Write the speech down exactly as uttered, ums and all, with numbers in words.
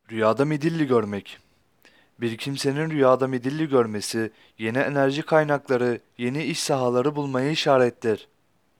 Rüyada midilli görmek. Bir kimsenin rüyada midilli görmesi, yeni enerji kaynakları, yeni iş sahaları bulmayı işarettir.